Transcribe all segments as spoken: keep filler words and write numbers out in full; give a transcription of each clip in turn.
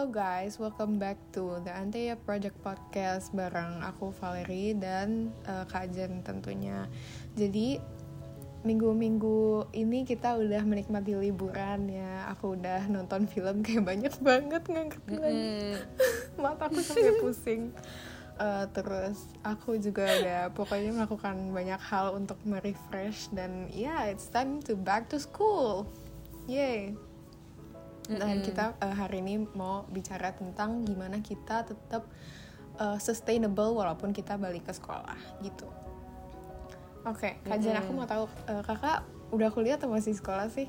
Halo guys, welcome back to the Antea Project Podcast bareng aku Valerie dan uh, Kak Jen tentunya. Jadi minggu-minggu ini kita udah menikmati liburan ya. Aku udah nonton film kayak banyak banget, nggak ngerti lagi. Mataku sampai pusing. Uh, terus aku juga udah pokoknya melakukan banyak hal untuk merefresh dan ya yeah, it's time to back to school. Yay. Dan mm-hmm. kita uh, hari ini mau bicara tentang gimana kita tetap uh, sustainable walaupun kita balik ke sekolah gitu. Oke, okay, Kak Jen, mm-hmm. aku mau tahu uh, kakak udah kuliah atau masih sekolah sih?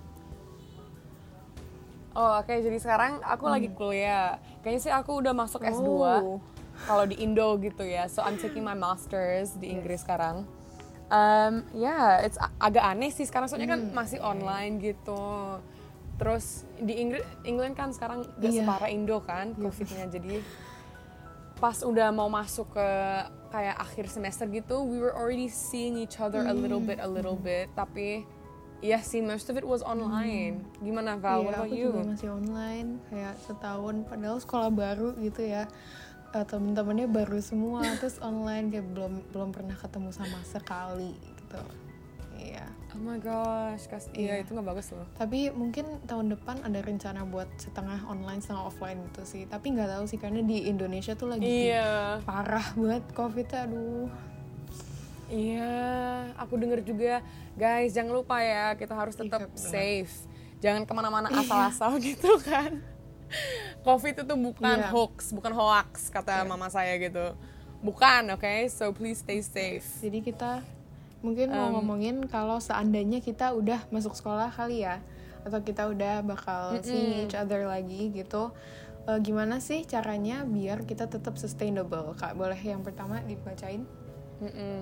Oh oke, okay. Jadi sekarang aku hmm. lagi kuliah. Kayaknya sih aku udah masuk oh. S dua kalau di Indo gitu ya. So I'm taking my masters di Inggris yes. sekarang. Um, ya, yeah, it's agak aneh sih sekarang soalnya kan hmm. masih online gitu. Terus di Inggris, England kan sekarang gak yeah. separah Indo kan COVID-nya. Yeah. Jadi pas udah mau masuk ke kayak akhir semester gitu, we were already seeing each other mm. a little bit, a little mm. bit. Tapi ya sih, most of it was online. Mm. Gimana Val? Yeah, what about aku you? Aku juga masih online, kayak setahun. Padahal sekolah baru gitu ya. Uh, temen-temennya baru semua, terus online kayak belum belum pernah ketemu sama sekali gitu. Iya. Yeah. Oh my gosh, kas iya yeah. itu nggak bagus loh. Tapi mungkin tahun depan ada rencana buat setengah online, setengah offline gitu sih. Tapi nggak tahu sih karena di Indonesia tuh lagi yeah. parah banget COVID-nya, aduh. Iya, yeah. aku denger juga, guys jangan lupa ya kita harus tetap Ika, safe. Jangan kemana-mana asal-asal gitu kan. COVID itu bukan yeah. hoax, bukan hoax kata yeah. mama saya gitu. Bukan, oke? Okay? So please stay safe. Jadi kita mungkin mau um, ngomongin kalau seandainya kita udah masuk sekolah kali ya, atau kita udah bakal mm-mm. seeing each other lagi gitu, uh, gimana sih caranya biar kita tetap sustainable? Kak, boleh yang pertama dibacain? Uh,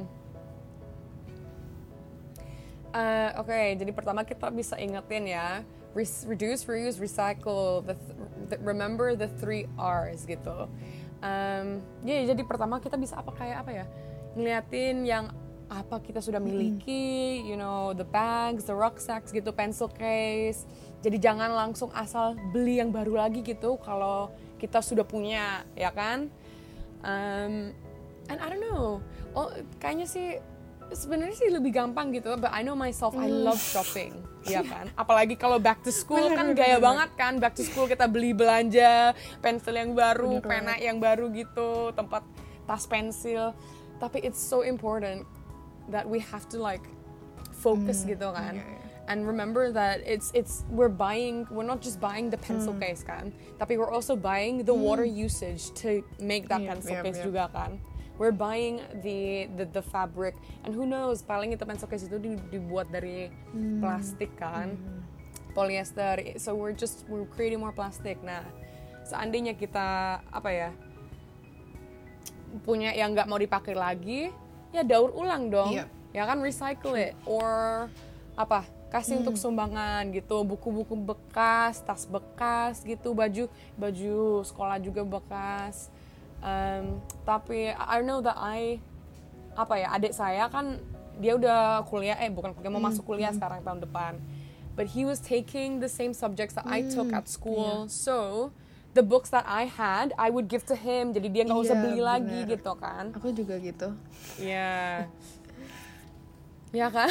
Oke, okay, jadi pertama kita bisa ingetin ya, Re- reduce, reuse, recycle, the th- the, remember the three R's gitu. Um, ya yeah, jadi pertama kita bisa apa kayak apa ya, ngeliatin yang apa kita sudah miliki, you know, the bags, the rucksacks gitu, pencil case. Jadi jangan langsung asal beli yang baru lagi gitu kalau kita sudah punya, ya kan? Um, and I don't know, oh kayaknya sih sebenarnya sih lebih gampang gitu. But I know myself, I love shopping, ya kan? Apalagi kalau back to school kan gaya banget kan, back to school kita beli belanja, pensil yang baru, pena yang baru gitu, tempat tas pensil. Tapi it's so important that we have to like focus mm, gitu kan, yeah, yeah. and remember that it's it's we're buying we're not just buying the pencil mm. case kan, tapi we're also buying the mm. water usage to make that yeah, pencil yeah, case yeah. juga kan. We're buying the the the fabric, and who knows, paling itu pencil case itu dibuat dari mm. plastik kan, mm. polyester. So we're just we're creating more plastic. Nah, seandainya kita apa ya punya yang nggak mau dipakai lagi, ya daur ulang dong, yeah. ya kan, recycle it, or apa, kasih hmm. untuk sumbangan gitu, buku-buku bekas, tas bekas gitu, baju baju sekolah juga bekas. Um, tapi I know that I apa ya, adik saya kan dia udah kuliah, eh bukan kuliah, mau hmm. masuk kuliah hmm. sekarang tahun depan, but he was taking the same subjects that hmm. I took at school, yeah. so the books that I had, I would give to him. Jadi dia nggak usah iya, beli bener. lagi gitu kan. Aku juga gitu. Iya. Ya kan?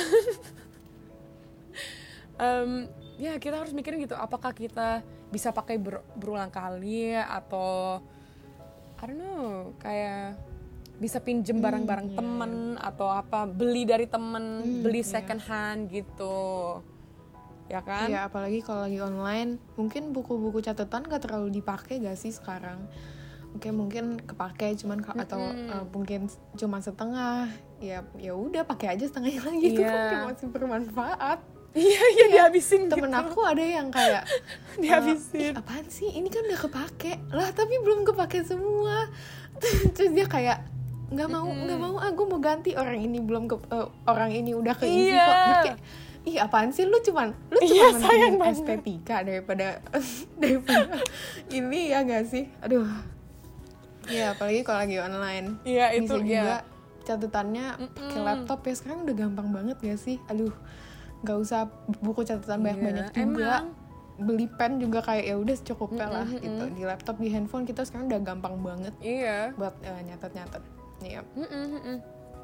um, ya kita harus mikirin gitu. Apakah kita bisa pakai ber- berulang kali atau I don't know, kayak bisa pinjem barang-barang hmm, temen yeah. atau apa, beli dari temen, hmm, beli second yeah. hand gitu. Ya kan? Iya, apalagi kalau lagi online, mungkin buku-buku catatan gak terlalu dipakai gak sih sekarang? Oke, mungkin kepake cuman mm-hmm. atau uh, mungkin cuma setengah. Ya ya udah pakai aja setengahnya lagi, itu yeah. kan masih bermanfaat. Iya, iya ya, dihabisin temen gitu. Aku ada yang kayak dihabisin. Uh, apaan sih? Ini kan udah kepake. Lah, tapi belum kepake semua. Terus dia kayak nggak mau, nggak mm-hmm. mau. Ah, gue mau ganti, orang ini belum ke, uh, orang ini udah keisi yeah. kok. Jadi kayak, ih apaan sih, lu cuman lu iya, cuman mentingin estetika daripada daripada ini ya nggak sih, aduh ya apalagi kalau lagi online. Iya itu bisa juga ya. Catatannya pakai laptop ya, sekarang udah gampang banget gak sih, aduh nggak usah buku catatan banyak-banyak iya, juga. emang beli pen juga kayak ya udah secukupnya lah Mm-mm, gitu. Di laptop, di handphone kita sekarang udah gampang banget Iya. buat uh, nyatet-nyatet. Iya. Mm-mm-mm.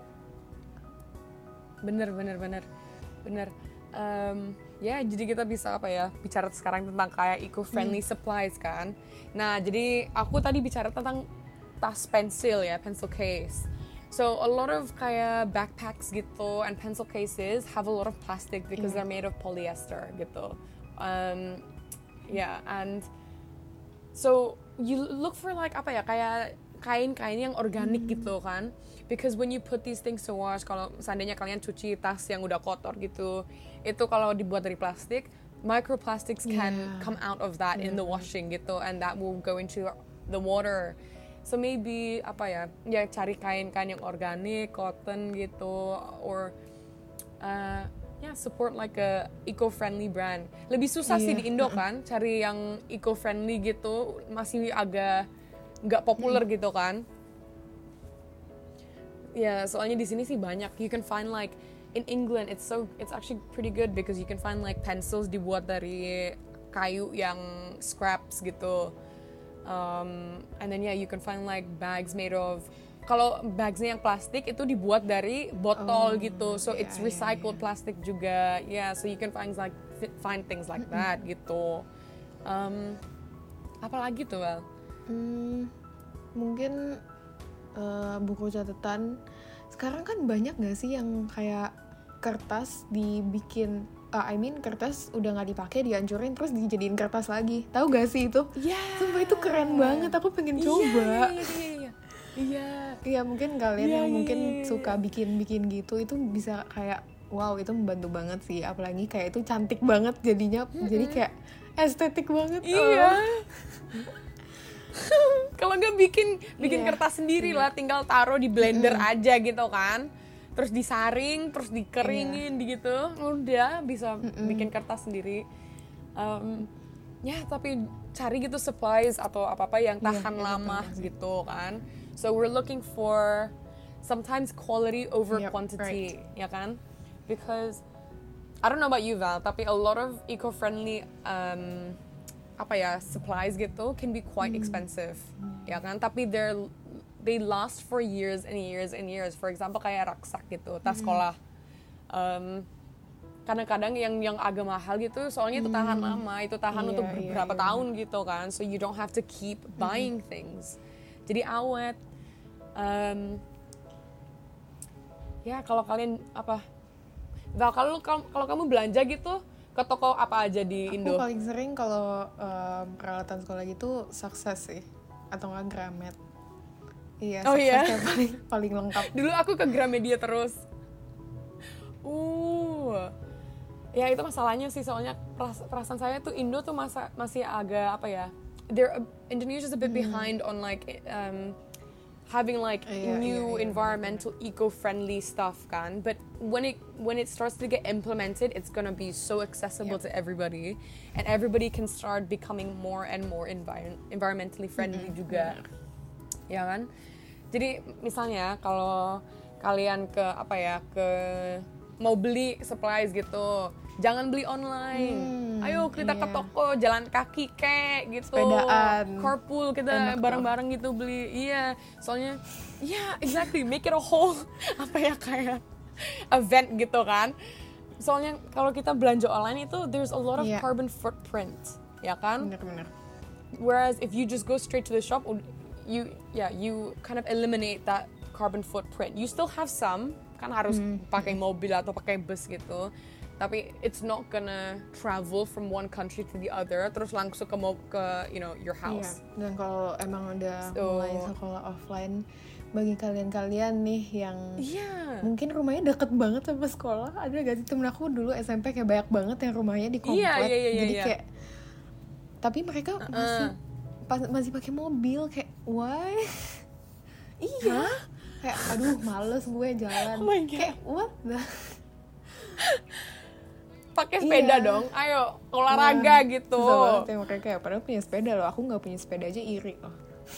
Bener, bener, bener, bener. Um, ya, jadi kita bisa apa ya bicara sekarang tentang kayak eco-friendly hmm. supplies kan. Nah, jadi aku tadi bicara tentang tas pensil ya, pencil case. So a lot of kayak backpacks gitu and pencil cases have a lot of plastic because yeah. they're made of polyester gitu. Um, yeah, and so you look for like apa ya kayak kain-kain yang organik hmm. gitu kan. Because when you put these things to wash, kalau seandainya kalian cuci tas yang udah kotor gitu, itu kalau dibuat dari plastik, microplastics yeah. can come out of that yeah. in the washing gitu, and that will go into the water. So maybe apa ya, ya cari kain-kain yang organik, cotton gitu, or uh, yeah, support like a eco-friendly brand. Lebih susah yeah. sih di Indo kan, cari yang eco-friendly gitu, masih agak nggak populer hmm. gitu kan. Ya, yeah, soalnya di sini sih banyak. You can find like in England, it's so it's actually pretty good because you can find like pencils dibuat dari kayu yang scraps gitu. Um, and then yeah, you can find like bags made of. Kalau bagsnya yang plastik itu dibuat dari botol oh, gitu, so yeah, it's recycled yeah, yeah. plastic juga. Yeah, so you can find like find things like mm-hmm. that gitu. Um, apalagi tuh, Well? Hmm, mungkin uh, buku catatan. Sekarang kan banyak nggak sih yang kayak kertas dibikin, uh, I mean kertas udah nggak dipakai dihancurin terus dijadiin kertas lagi. Tahu gak sih itu? Iya. Yeah. Sumpah itu keren banget. Aku pengen coba. Iya. Yeah, yeah, yeah. Iya. Iya mungkin kalian yeah, yang yeah, mungkin yeah, yeah. suka bikin-bikin gitu itu bisa kayak wow itu membantu banget sih. Apalagi kayak itu cantik banget jadinya. Mm-hmm. Jadi kayak estetik banget. Iya. Kalau nggak bikin bikin yeah. kertas sendiri yeah. lah, tinggal taruh di blender mm-hmm. aja gitu kan. Terus disaring, terus dikeringin yeah. gitu, udah bisa mm-mm. bikin kertas sendiri. Um, ya tapi cari gitu supplies atau apa-apa yang tahan yeah, lama yeah, gitu kan. So we're looking for sometimes quality over yep, quantity, right. ya kan? Because I don't know about you, Val, tapi a lot of eco-friendly um, apa ya supplies gitu can be quite mm. expensive, mm. ya kan? Tapi they're they last for years and years and years. For example kayak rucksack gitu, tas sekolah. Um, kadang-kadang yang yang agak mahal gitu, soalnya itu tahan lama, itu tahan yeah, untuk beberapa yeah, tahun yeah. gitu kan. So you don't have to keep buying mm-hmm. things. Jadi awet. Um, ya kalau kalian apa? Nah, kalau kalau kamu belanja gitu ke toko apa aja di Indo? Aku paling sering kalau um, peralatan sekolah gitu Sukses sih, atau nggak Gramet. Iya, oh iya, paling paling lengkap. Dulu aku ke Gramedia terus. Uh, ya itu masalahnya sih, soalnya perasaan saya tuh Indo tuh masa masih agak apa ya? They're Indonesia's a bit hmm. behind on like um, having like yeah, new yeah, yeah, environmental yeah. eco-friendly stuff kan. But when it when it starts to get implemented, it's gonna be so accessible yep. to everybody, and everybody can start becoming more and more envir- environmentally friendly mm-hmm. juga, yeah. ya kan? Jadi misalnya kalau kalian ke apa ya ke mau beli supplies gitu, jangan beli online. Hmm, Ayo kita iya. ke toko, jalan kaki kek gitu. Sepedaan. Carpool kita enak bareng-bareng gitu beli. Iya, soalnya ya yeah, exactly make it a whole apa ya kayak event gitu kan. Soalnya kalau kita belanja online itu there's a lot of yeah. carbon footprint, ya kan? Benar-benar. Whereas if you just go straight to the shop, you yeah you kind of eliminate that carbon footprint. You still have some, kan harus hmm. pakai mobil atau pakai bus gitu, tapi it's not gonna travel from one country to the other terus langsung ke mo- ke you know your house. Iya. Dan kalau emang udah so, mulai sekolah offline, bagi kalian-kalian nih yang yeah. mungkin rumahnya deket banget sama sekolah, ada gak sih temen aku dulu S M P kayak banyak banget yang rumahnya di komplek, yeah, yeah, yeah, jadi yeah. kayak tapi mereka uh-uh. masih pas, masih pakai mobil kayak why? Iya. Huh? Kayak aduh males gue jalan. Oh my God. Kayak what the? Pakai sepeda iya. dong, ayo olahraga nah, gitu. Susah banget ya makanya kayak padahal punya sepeda loh, aku nggak punya sepeda aja iri loh.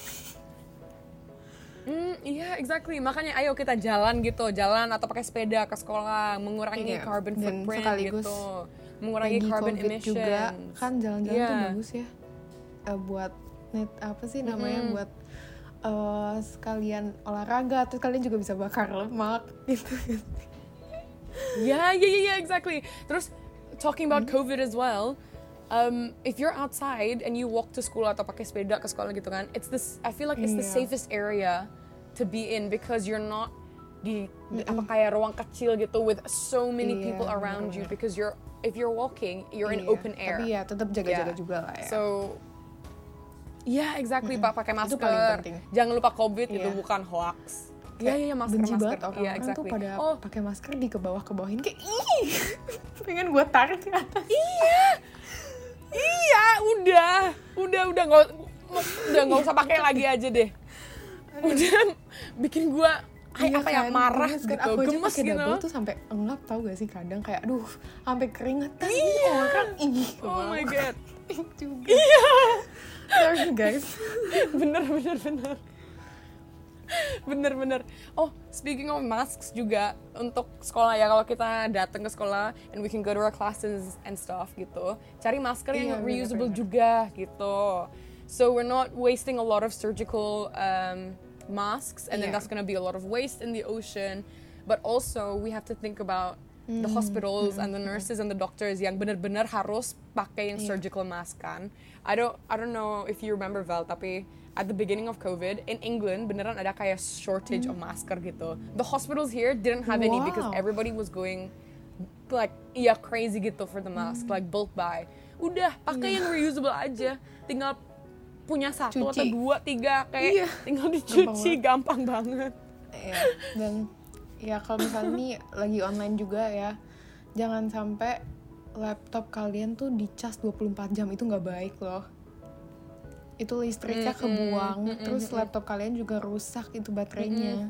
Hmm, iya, exactly. Makanya ayo kita jalan gitu, jalan atau pakai sepeda ke sekolah, mengurangi iya. carbon footprint gitu. mengurangi lagi carbon COVID emissions juga kan jalan-jalan Iya. tuh bagus ya. Eh, buat net apa sih namanya Mm-mm. buat eh, sekalian olahraga terus kalian juga bisa bakar lemak gitu. Yeah, yeah, yeah, yeah, exactly. Terus talking about COVID as well, um, if you're outside and you walk to school atau pakai sepeda ke sekolah gitu kan, it's this. I feel like it's the Iya. safest area to be in because you're not di, di apa kayak ruang kecil gitu with so many Iya, people around you benar-benar. because you're if you're walking you're in Iya, open air. tapi ya tetap jaga-jaga Yeah. juga lah ya. So, yeah, exactly. Pak pakai Itu masker. paling penting. Jangan lupa COVID itu Iya. bukan hoax. Iya, Kayak iya, iya, masker, benci masker. banget orang-orang Iya, exactly. tuh pada Oh, pakai masker di ke bawah ke bawahin kayak ih pengen gue tarik ke atas. iya, iya, udah, udah, udah nggak, udah nggak usah pakai lagi aja deh. Udah bikin gua Iya apa ya kan, marah gemes gitu, kan. Aku aja gemes pakai gitu. double tuh sampai engap tau gak sih kadang kayak aduh sampai keringetan iya. Orang ih Oh my god. juga Iya, sorry guys. bener, bener, bener. Bener, bener. Oh, speaking of masks juga untuk sekolah ya, kalau kita datang ke sekolah and we can go to our classes and stuff gitu, cari masker yang Iya, reusable bener-bener. juga gitu. So we're not wasting a lot of surgical um, masks and then Iya. that's gonna be a lot of waste in the ocean. But also we have to think about the hospitals and the nurses and the doctors yang benar-benar harus pakai yang Iya. surgical mask kan. I don't I don't know if you remember Val, tapi at the beginning of COVID in England beneran ada kayak shortage of masker gitu. The hospitals here didn't have any because Wow. everybody was going like iya crazy gitu for the mask, like bulk buy. Udah pakai yang reusable aja, tinggal punya satu atau Cuci. dua tiga kayak Iya. tinggal dicuci, gampang banget. Iya, dan ya kalau misalnya nih lagi online juga ya jangan sampai laptop kalian tuh dicas dua puluh empat jam, itu nggak baik loh. Itu listriknya kebuang, terus laptop kalian juga rusak itu baterainya.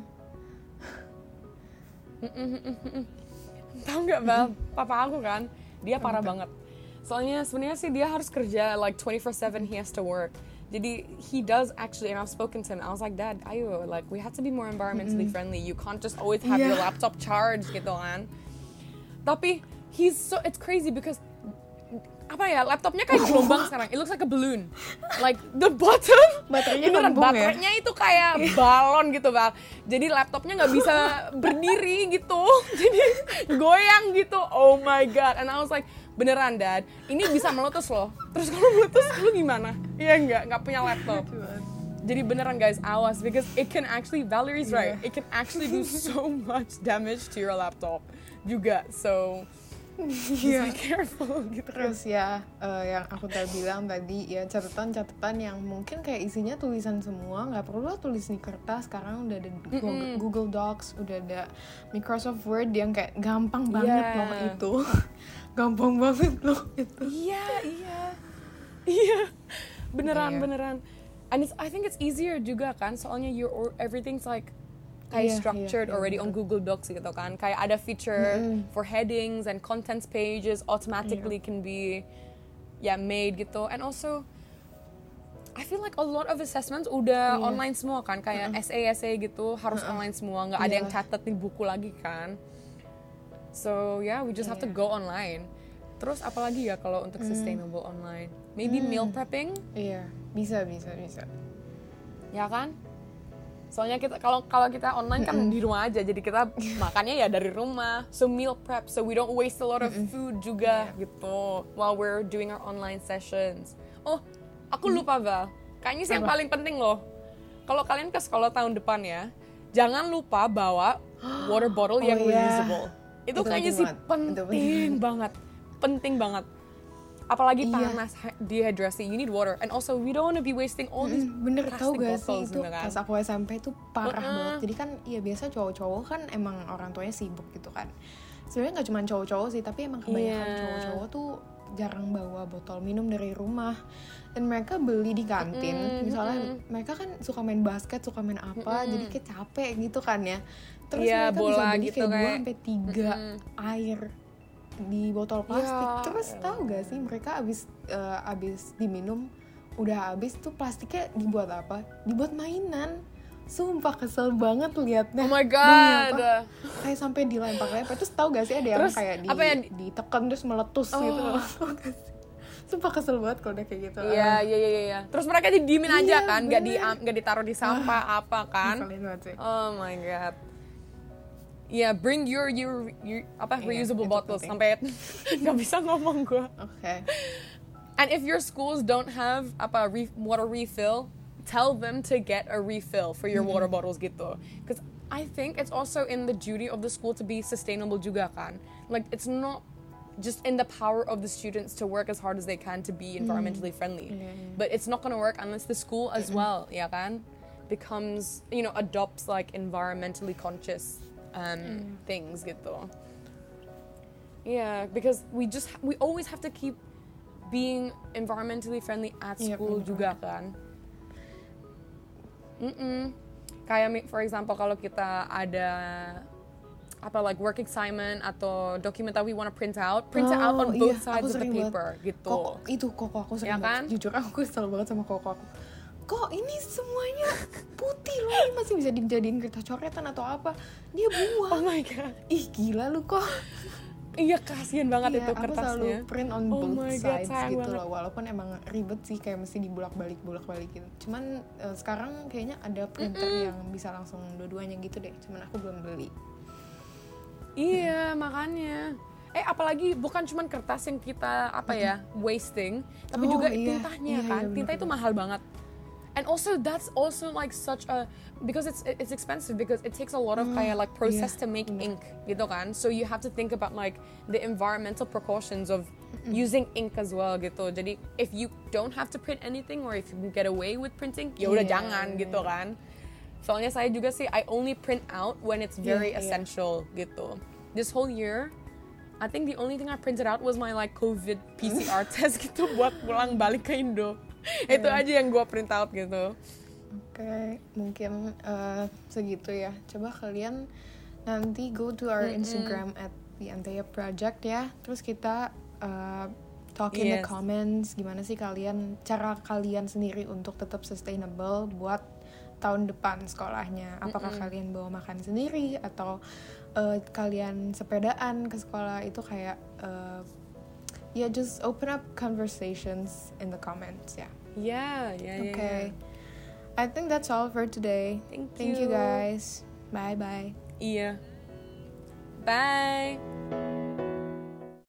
Tahu nggak Val, papa aku kan dia parah banget. Soalnya sebenarnya sih dia harus kerja like twenty-four seven, he has to work. Jadi he does actually, and I've spoken to him. I was like, Dad, ayo, like we have to be more environmentally friendly. You can't just always have your Yeah. laptop charged gitu kan. Tapi he's so, it's crazy because apa ya, laptopnya kayak gelombang sekarang. It looks like a balloon. Like the bottom, Baterainya beneran kembung ya? baterainya itu kayak balon gitu Val. Jadi laptopnya nggak bisa berdiri gitu. Jadi goyang gitu. Oh my god. And I was like, beneran Dad, ini bisa meletus loh. Terus kalau meletus lu gimana? Iya nggak, nggak punya laptop. Jadi beneran guys, awas because it can actually, Valerie's right, it can actually do so much damage to your laptop juga. So just Iya. be careful gitu. Terus ya eh, yang aku tadi bilang tadi ya catatan-catatan yang mungkin kayak isinya tulisan semua, nggak perlu lah tulis di kertas. Sekarang udah ada Google, Google Docs, udah ada Microsoft Word yang kayak gampang banget Yeah. loh itu. Gampang banget loh itu. Iya, iya. Iya. Beneran, Iya. beneran. And it's, I think it's easier juga kan, soalnya you're or- everything's like kayak Iya, structured iya, iya, already on betul. Google Docs gitu kan. Kayak ada feature for headings and contents pages automatically Iya. can be yeah made gitu. And also I feel like a lot of assessments udah Iya. online semua kan, kayak essay essay gitu harus online semua, nggak ada yang Iyalah. catat di buku lagi kan. So yeah, we just have to Iya. go online. Terus apalagi ya kalau untuk sustainable online? Maybe meal prepping, Iya, bisa bisa bisa. ya kan? Soalnya kita kalau kalau kita online kan di rumah aja, jadi kita makannya ya dari rumah. So meal prep, so we don't waste a lot of food juga gitu while we're doing our online sessions. Oh, aku lupa Val. Kayaknya sih yang Apa? paling penting loh. Kalau kalian ke sekolah tahun depan ya, jangan lupa bawa water bottle yang Oh, iya. reusable. Itu, Itu kayaknya penting sih banget. Itu penting penting banget. Penting banget. Apalagi Iya. panas, hy- dehydrasi, you need water. And also we don't want to be wasting all these Mm, bener, tau plastic gak sih bottles itu gitu kan. pas aku S M P itu parah Uh-uh. banget. Jadi kan ya biasa cowok-cowok kan emang orang tuanya sibuk gitu kan. Sebenarnya nggak cuma cowok-cowok sih, tapi emang kebanyakan Iya. cowok-cowok tuh jarang bawa botol minum dari rumah. Dan mereka beli di kantin. Mm-mm, Misalnya mm-mm. mereka kan suka main basket, suka main apa, jadi kayak capek gitu kan ya. Terus Iya, mereka bisa bola beli gitu kayak dua kayak- sampai tiga air di botol plastik. Ya Terus tahu gak sih mereka abis eh, abis diminum udah habis tuh plastiknya dibuat apa? Dibuat mainan. Sumpah kesel banget liatnya. Oh my Demi god. apa? Kayak sampai dilempar-lempar. Terus tahu gak sih ada yang Terus, kayak di, apa ya? ditekan terus meletus Oh. gitu loh. Sumpah kesel banget kalau udah kayak gitu. Iya, iya, iya, iya. Terus mereka didiemin Iya, aja kan, nggak di bener. nggak ditaruh di sampah apa kan? Ngeselin banget sih. Oh my god. Yeah, bring your your, your apa Iya, reusable itu bottles penting. sampai nggak bisa ngomong gue. Oke. And if your schools don't have apa re- water refill, tell them to get a refill for your water bottles gitu. Because I think it's also in the duty of the school to be sustainable juga kan. Like it's not just in the power of the students to work as hard as they can to be environmentally friendly. Yeah, yeah. But it's not going to work unless the school as well, ya kan, becomes, you know, adopts like environmentally conscious um, things gitu. Yeah, because we just we always have to keep being environmentally friendly at Yep, school bener juga kan. Mm-mm. Kayak mi- for example kalau kita ada apa like work assignment atau document that we want to print out, print it out Oh, on both iya, sides aku of the sering paper banget. gitu. Koko, itu koko aku sering Ya banget. kan? Jujur aku kesel banget sama koko aku. Kok ini semuanya putih loh, ini masih bisa dijadiin kertas coretan atau apa? Dia Oh buang. my god. Ih gila lu kok. Iya kasihan banget Iya, itu aku kertasnya. selalu print on Oh both my God, sides sayang gitu banget. loh. Walaupun emang ribet sih kayak mesti dibulak-balik bulak-balik gitu. Cuman eh, sekarang kayaknya ada printer yang bisa langsung dua-duanya gitu deh. Cuman aku belum beli. Iya, makanya. Eh, apalagi bukan cuma kertas yang kita apa ya, wasting, tapi Oh, juga iya. tintanya Iya, kan. iya, Tinta itu mahal banget. And also that's also like such a because it's it's expensive because it takes a lot of kayak like process iya, to make ink gitu kan. So you have to think about like the environmental precautions of using ink as well gitu. Jadi if you don't have to print anything or if you can get away with printing, ya udah Iya, jangan iya. gitu kan. Soalnya saya juga sih I only print out when it's very Iya, iya. essential gitu. This whole year I think the only thing I printed out was my like COVID P C R test gitu buat pulang balik ke Indo. Itu Iya. aja yang gue print out gitu. Oke, mungkin eh, segitu ya. Coba kalian nanti go to our Instagram at the Antea Project ya. Terus kita eh, talk in the Yes. comments gimana sih kalian, cara kalian sendiri untuk tetap sustainable buat tahun depan sekolahnya. Apakah kalian bawa makan sendiri atau eh, kalian sepedaan ke sekolah, itu kayak eh, ya just open up conversations in the comments ya. Yeah, yeah, yeah. Okay. yeah. I think that's all for today. Thank Thank you you. guys. Bye bye. Iya. Bye.